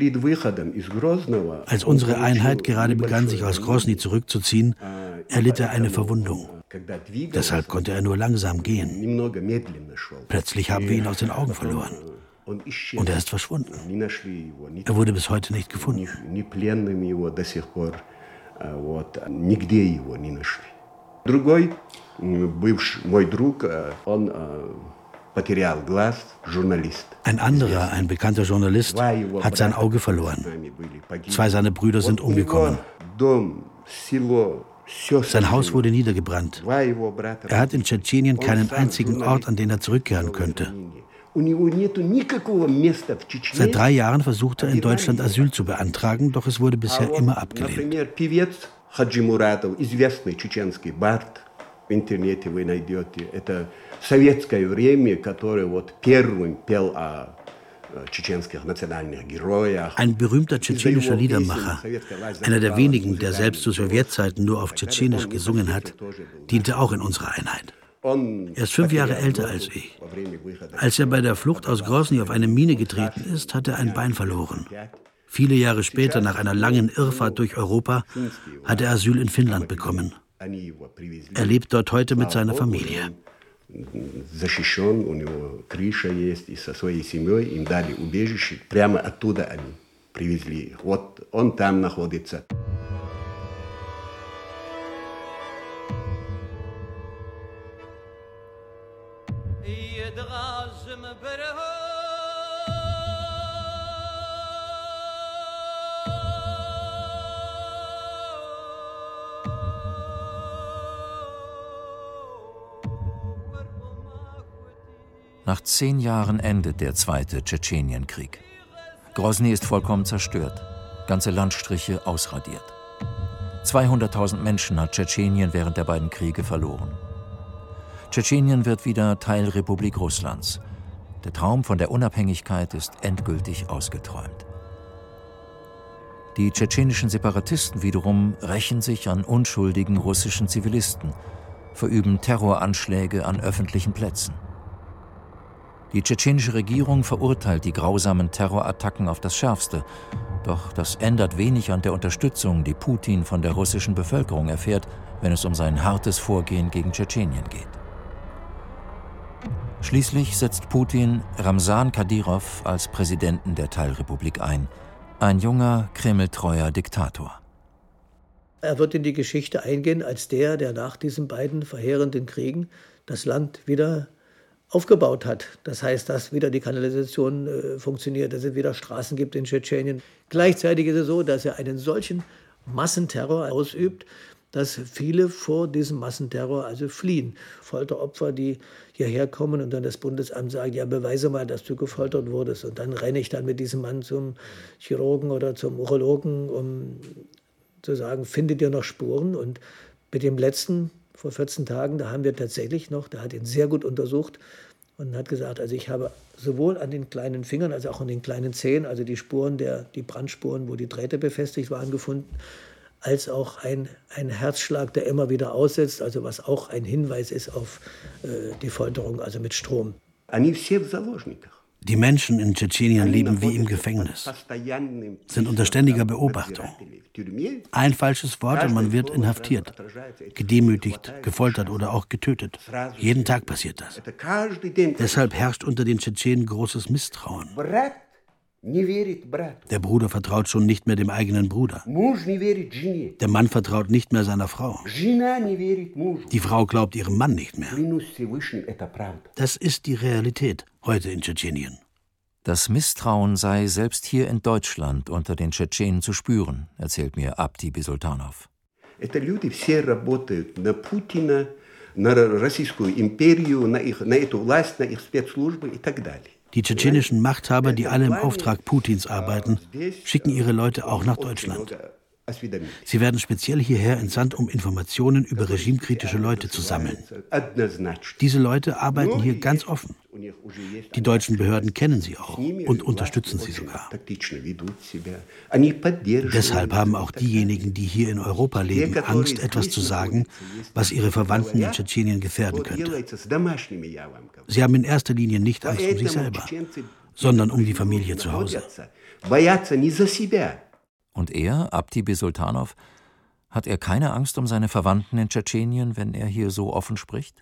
Als unsere Einheit gerade begann, sich aus Grosny zurückzuziehen, erlitt er eine Verwundung. Deshalb konnte er nur langsam gehen. Plötzlich haben wir ihn aus den Augen verloren. Und er ist verschwunden. Er wurde bis heute nicht gefunden. Другой бывший мой друг, он потерял глаз, журналист. Ein anderer, ein bekannter Journalist, hat sein Auge verloren. Zwei seiner Brüder sind umgekommen. Sein Haus wurde niedergebrannt. Er hat in Tschetschenien keinen einzigen Ort, an den er zurückkehren könnte. Seit drei Jahren versuchte er in Deutschland Asyl zu beantragen, doch es wurde bisher immer abgelehnt. Хаджи Муратов, известный чеченский бард, в интернете вы найдете. Это советское время, которое вот первым пел о tschetschenskich nationalen Heroях. Ein berühmter tschetschenischer Liedermacher, einer der wenigen, der selbst zu Sowjetzeiten nur auf Tschetschenisch gesungen hat, diente auch in unserer Einheit. Er ist fünf Jahre älter als ich. Als er bei der Flucht aus Grosny auf eine Mine getreten ist, hat er ein Bein verloren. Viele Jahre später, nach einer langen Irrfahrt durch Europa, hat er Asyl in Finnland bekommen. Er lebt dort heute mit seiner Familie. Nach zehn Jahren endet der zweite Tschetschenienkrieg. Grosny ist vollkommen zerstört, ganze Landstriche ausradiert. zweihunderttausend Menschen hat Tschetschenien während der beiden Kriege verloren. Tschetschenien wird wieder Teilrepublik Russlands. Der Traum von der Unabhängigkeit ist endgültig ausgeträumt. Die tschetschenischen Separatisten wiederum rächen sich an unschuldigen russischen Zivilisten, verüben Terroranschläge an öffentlichen Plätzen. Die tschetschenische Regierung verurteilt die grausamen Terrorattacken auf das Schärfste. Doch das ändert wenig an der Unterstützung, die Putin von der russischen Bevölkerung erfährt, wenn es um sein hartes Vorgehen gegen Tschetschenien geht. Schließlich setzt Putin Ramsan Kadyrov als Präsidenten der Teilrepublik ein. Ein junger, kremltreuer Diktator. Er wird in die Geschichte eingehen als der, der nach diesen beiden verheerenden Kriegen das Land wieder aufgebaut hat. Das heißt, dass wieder die Kanalisation äh, funktioniert, dass es wieder Straßen gibt in Tschetschenien. Gleichzeitig ist es so, dass er einen solchen Massenterror ausübt, dass viele vor diesem Massenterror also fliehen. Folteropfer, die hierher kommen und dann das Bundesamt sagt, ja, beweise mal, dass du gefoltert wurdest. Und dann renne ich dann mit diesem Mann zum Chirurgen oder zum Urologen, um zu sagen, findet ihr noch Spuren? Und mit dem letzten, vor vierzehn Tagen, da haben wir tatsächlich noch, der hat ihn sehr gut untersucht und hat gesagt, also ich habe sowohl an den kleinen Fingern als auch an den kleinen Zehen, also die Spuren, der, die Brandspuren, wo die Drähte befestigt waren, gefunden, als auch ein, ein Herzschlag, der immer wieder aussetzt, also was auch ein Hinweis ist auf äh, die Folterung, also mit Strom. Die Menschen in Tschetschenien leben wie im Gefängnis, sind unter ständiger Beobachtung. Ein falsches Wort und man wird inhaftiert, gedemütigt, gefoltert oder auch getötet. Jeden Tag passiert das. Deshalb herrscht unter den Tschetschenen großes Misstrauen. Der Bruder vertraut schon nicht mehr dem eigenen Bruder. Der Mann vertraut nicht mehr seiner Frau. Die Frau glaubt ihrem Mann nicht mehr. Das ist die Realität heute in Tschetschenien. Das Misstrauen sei selbst hier in Deutschland unter den Tschetschenen zu spüren, erzählt mir Abdi Bisultanov. Die tschetschenischen Machthaber, die alle im Auftrag Putins arbeiten, schicken ihre Leute auch nach Deutschland. Sie werden speziell hierher entsandt, um Informationen über regimekritische Leute zu sammeln. Diese Leute arbeiten hier ganz offen. Die deutschen Behörden kennen sie auch und unterstützen sie sogar. Deshalb haben auch diejenigen, die hier in Europa leben, Angst, etwas zu sagen, was ihre Verwandten in Tschetschenien gefährden könnte. Sie haben in erster Linie nicht Angst um sich selber, sondern um die Familie zu Hause. Und er, Abdi Bisultanov, hat er keine Angst um seine Verwandten in Tschetschenien, wenn er hier so offen spricht?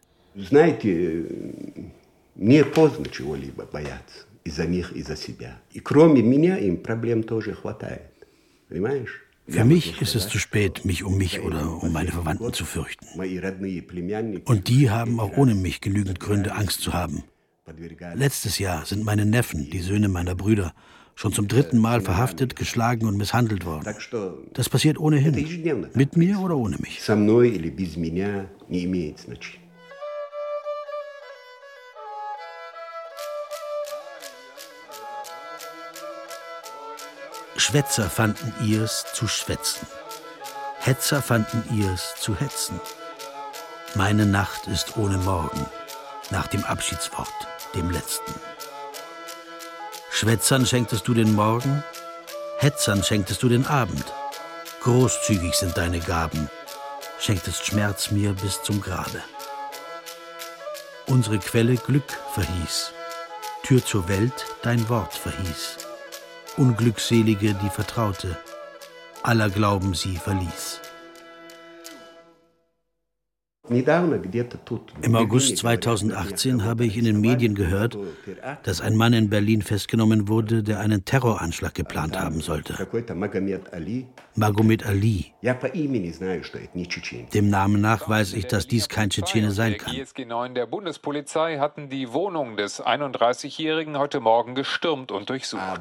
Für mich ist es zu spät, mich um mich oder um meine Verwandten zu fürchten. Und die haben auch ohne mich genügend Gründe, Angst zu haben. Letztes Jahr sind meine Neffen, die Söhne meiner Brüder, schon zum dritten Mal verhaftet, geschlagen und misshandelt worden. Das passiert ohnehin, mit mir oder ohne mich. Schwätzer fanden ihrs zu schwätzen. Hetzer fanden ihrs zu hetzen. Meine Nacht ist ohne Morgen, nach dem Abschiedswort, dem letzten. Schwätzern schenktest du den Morgen, Hetzern schenktest du den Abend. Großzügig sind deine Gaben, schenktest Schmerz mir bis zum Grabe. Unsere Quelle Glück verhieß, Tür zur Welt dein Wort verhieß. Unglückselige, die vertraute, aller Glauben sie verließ. Im August zweitausendachtzehn habe ich in den Medien gehört, dass ein Mann in Berlin festgenommen wurde, der einen Terroranschlag geplant haben sollte. Magomed Ali. Dem Namen nach weiß ich, dass dies kein Tschetschene sein kann. Die G S G neun der Bundespolizei hatten die Wohnung des einunddreißigjährigen heute Morgen gestürmt und durchsucht.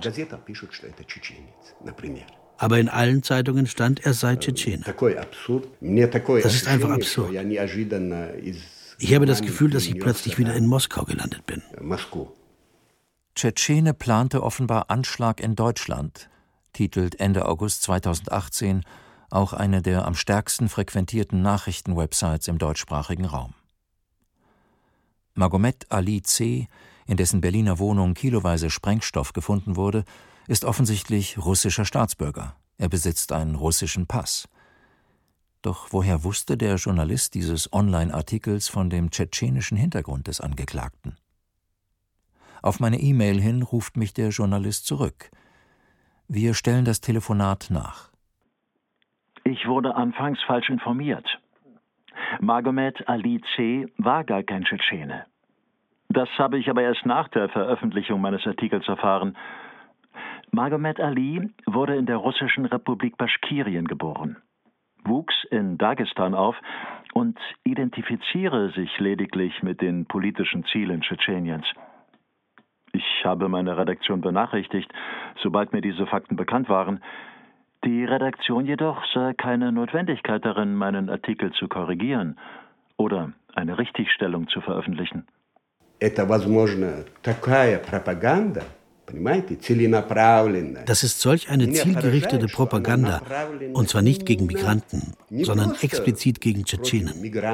Aber in allen Zeitungen stand, er sei Tschetschene. Das ist einfach absurd. Ich habe das Gefühl, dass ich plötzlich wieder in Moskau gelandet bin. Tschetschene plante offenbar Anschlag in Deutschland, titelt Ende August zweitausendachtzehn auch eine der am stärksten frequentierten Nachrichtenwebsites im deutschsprachigen Raum. Magomed Ali C., in dessen Berliner Wohnung kiloweise Sprengstoff gefunden wurde, ist offensichtlich russischer Staatsbürger. Er besitzt einen russischen Pass. Doch woher wusste der Journalist dieses Online-Artikels von dem tschetschenischen Hintergrund des Angeklagten? Auf meine E-Mail hin ruft mich der Journalist zurück. Wir stellen das Telefonat nach. Ich wurde anfangs falsch informiert. Magomed Ali C. war gar kein Tschetschene. Das habe ich aber erst nach der Veröffentlichung meines Artikels erfahren. Magomed Ali wurde in der russischen Republik Baschkirien geboren, wuchs in Dagestan auf und identifiziere sich lediglich mit den politischen Zielen Tschetscheniens. Ich habe meine Redaktion benachrichtigt, sobald mir diese Fakten bekannt waren. Die Redaktion jedoch sah keine Notwendigkeit darin, meinen Artikel zu korrigieren oder eine Richtigstellung zu veröffentlichen. Это, возможно, такая пропаганда, понимаете, целенаправленная. Das ist solch eine zielgerichtete Propaganda, und zwar nicht gegen Migranten, sondern explizit gegen Tschetschenen.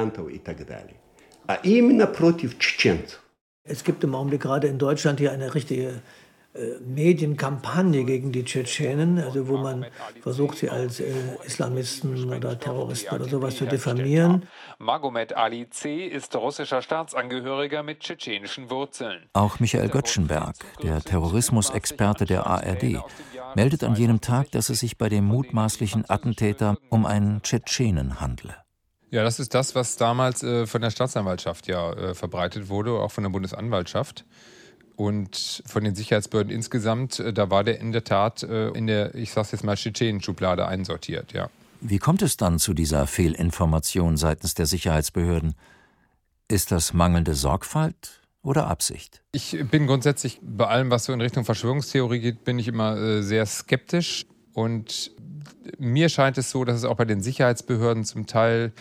А именно против чеченцев. Es gibt im Augenblick gerade in Deutschland hier eine richtige äh, Medienkampagne gegen die Tschetschenen, also wo man versucht, sie als äh, Islamisten oder Terroristen oder sowas zu diffamieren. Magomed Ali C. ist russischer Staatsangehöriger mit tschetschenischen Wurzeln. Auch Michael Göttschenberg, der Terrorismusexperte der A R D, meldet an jenem Tag, dass es sich bei dem mutmaßlichen Attentäter um einen Tschetschenen handle. Ja, das ist das, was damals äh, von der Staatsanwaltschaft ja äh, verbreitet wurde, auch von der Bundesanwaltschaft. Und von den Sicherheitsbehörden insgesamt, äh, da war der in der Tat äh, in der, ich sag's jetzt mal, Tschetschenen-Schublade einsortiert, ja. Wie kommt es dann zu dieser Fehlinformation seitens der Sicherheitsbehörden? Ist das mangelnde Sorgfalt oder Absicht? Ich bin grundsätzlich bei allem, was so in Richtung Verschwörungstheorie geht, bin ich immer äh, sehr skeptisch. Und mir scheint es so, dass es auch bei den Sicherheitsbehörden zum Teil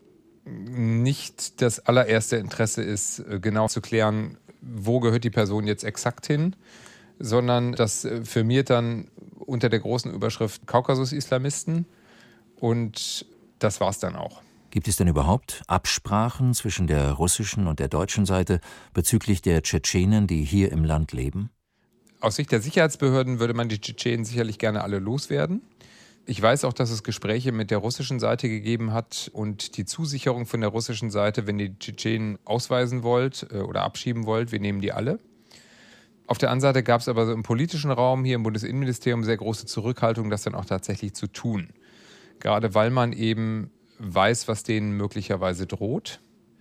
nicht das allererste Interesse ist, genau zu klären, wo gehört die Person jetzt exakt hin, sondern das firmiert dann unter der großen Überschrift Kaukasus-Islamisten und das war's dann auch. Gibt es denn überhaupt Absprachen zwischen der russischen und der deutschen Seite bezüglich der Tschetschenen, die hier im Land leben? Aus Sicht der Sicherheitsbehörden würde man die Tschetschenen sicherlich gerne alle loswerden. Ich weiß auch, dass es Gespräche mit der russischen Seite gegeben hat und die Zusicherung von der russischen Seite, wenn ihr die Tschetschenen ausweisen wollt oder abschieben wollt, wir nehmen die alle. Auf der anderen Seite gab es aber so im politischen Raum hier im Bundesinnenministerium sehr große Zurückhaltung, das dann auch tatsächlich zu tun. Gerade weil man eben weiß, was denen möglicherweise droht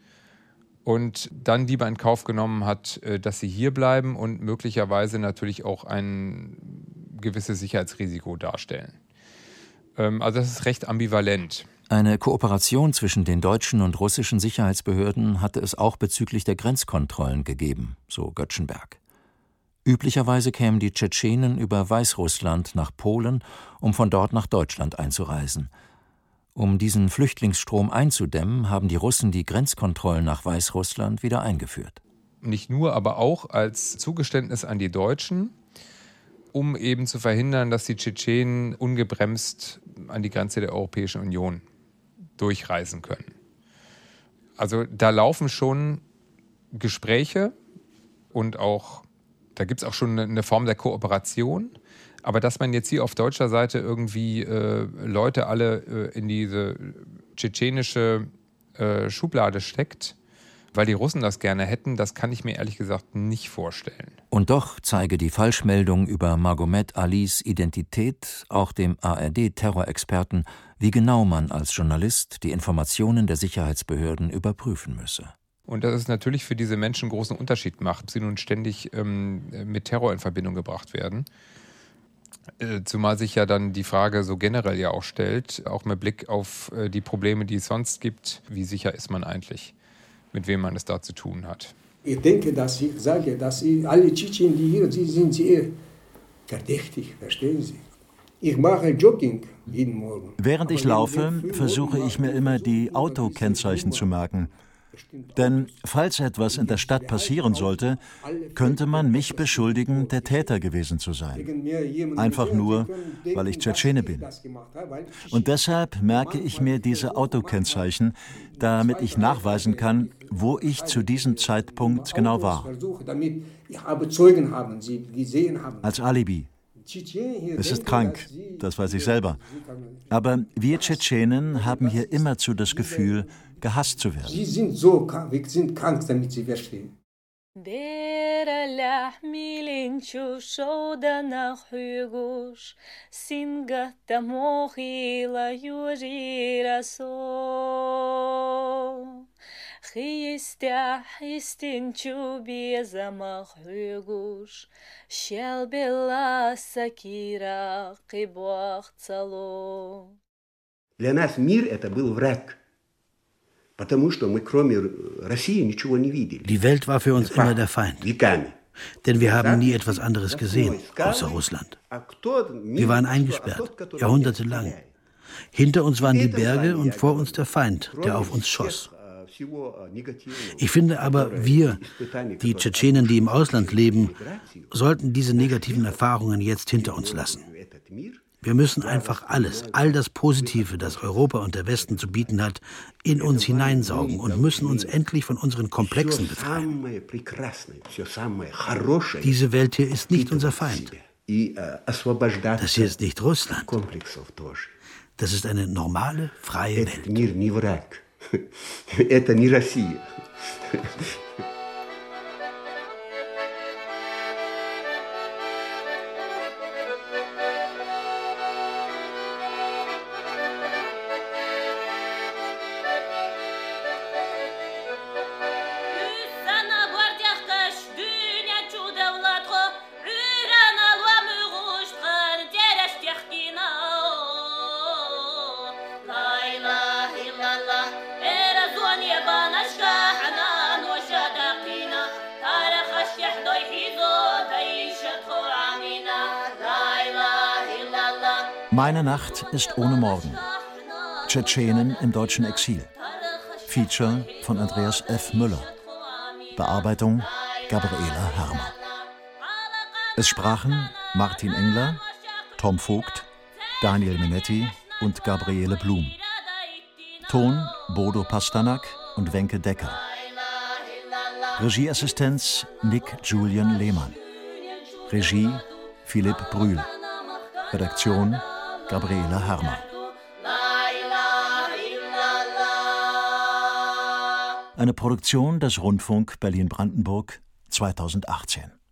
und dann lieber in Kauf genommen hat, dass sie hier bleiben und möglicherweise natürlich auch ein gewisses Sicherheitsrisiko darstellen. Also das ist recht ambivalent. Eine Kooperation zwischen den deutschen und russischen Sicherheitsbehörden hatte es auch bezüglich der Grenzkontrollen gegeben, so Göttschenberg. Üblicherweise kämen die Tschetschenen über Weißrussland nach Polen, um von dort nach Deutschland einzureisen. Um diesen Flüchtlingsstrom einzudämmen, haben die Russen die Grenzkontrollen nach Weißrussland wieder eingeführt. Nicht nur, aber auch als Zugeständnis an die Deutschen, um eben zu verhindern, dass die Tschetschenen ungebremst an die Grenze der Europäischen Union durchreisen können. Also da laufen schon Gespräche und auch, da gibt es auch schon eine Form der Kooperation. Aber dass man jetzt hier auf deutscher Seite irgendwie äh, Leute alle äh, in diese tschetschenische äh, Schublade steckt, weil die Russen das gerne hätten, das kann ich mir ehrlich gesagt nicht vorstellen. Und doch zeige die Falschmeldung über Magomed Alis Identität auch dem A R D-Terrorexperten, wie genau man als Journalist die Informationen der Sicherheitsbehörden überprüfen müsse. Und dass es natürlich für diese Menschen einen großen Unterschied macht, ob sie nun ständig ähm, mit Terror in Verbindung gebracht werden. Äh, zumal sich ja dann die Frage so generell ja auch stellt, auch mit Blick auf äh, die Probleme, die es sonst gibt, wie sicher ist man eigentlich, mit wem man es da zu tun hat. Ich denke, dass ich sage, dass ich, alle Tschetschenen, die hier sind, sind sie eher verdächtig, verstehen Sie? Ich mache Jogging jeden Morgen. Während ich laufe, versuche ich mir immer die Autokennzeichen zu merken. Denn falls etwas in der Stadt passieren sollte, könnte man mich beschuldigen, der Täter gewesen zu sein. Einfach nur, weil ich Tschetschene bin. Und deshalb merke ich mir diese Autokennzeichen, damit ich nachweisen kann, wo ich zu diesem Zeitpunkt genau war. Als Alibi. Es ist krank, das weiß ich selber. Aber wir Tschetschenen haben hier immerzu das Gefühl, gehasst zu werden. Sie sind so, wir sind krank, damit Sie verstehen. Берелях миленчу шоуда на хюгуш, синга тамохила южирасо. Хистя хистинчу безама хюгуш, щелбела сакира кибуах цало. Для нас мир это был враг. Потому что мы кроме России ничего не видели. Die Welt war für uns immer der Feind. Denn wir haben nie etwas anderes gesehen, außer Russland. Wir waren eingesperrt, jahrhundertelang. Hinter uns waren die Berge und vor uns der Feind, der auf uns schoss. Ich finde aber, wir, die Tschetschenen, die im Ausland leben, sollten diese negativen Erfahrungen jetzt hinter uns lassen. Wir müssen einfach alles, all das Positive, das Europa und der Westen zu bieten hat, in uns hineinsaugen und müssen uns endlich von unseren Komplexen befreien. Diese Welt hier ist nicht unser Feind. Das hier ist nicht Russland. Das ist eine normale, freie Welt. Meine Nacht ist ohne Morgen. Tschetschenen im deutschen Exil. Feature von Andreas F. Müller. Bearbeitung Gabriela Hermer. Es sprachen Martin Engler, Tom Vogt, Daniel Minetti und Gabriele Blum. Ton Bodo Pasternak und Wenke Decker. Regieassistenz Nick Julian Lehmann. Regie Philipp Brühl. Redaktion Gabriela Hermer. Eine Produktion des Rundfunk Berlin-Brandenburg zweitausendachtzehn.